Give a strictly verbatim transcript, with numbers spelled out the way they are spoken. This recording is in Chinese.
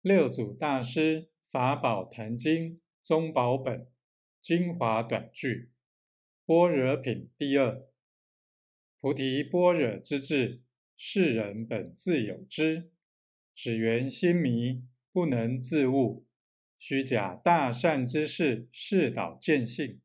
六祖大师法宝坛经宗宝本精华短句般若品第二。菩提般若之智，世人本自有之，只缘心迷，不能自悟，虚假大善之事，示导见性。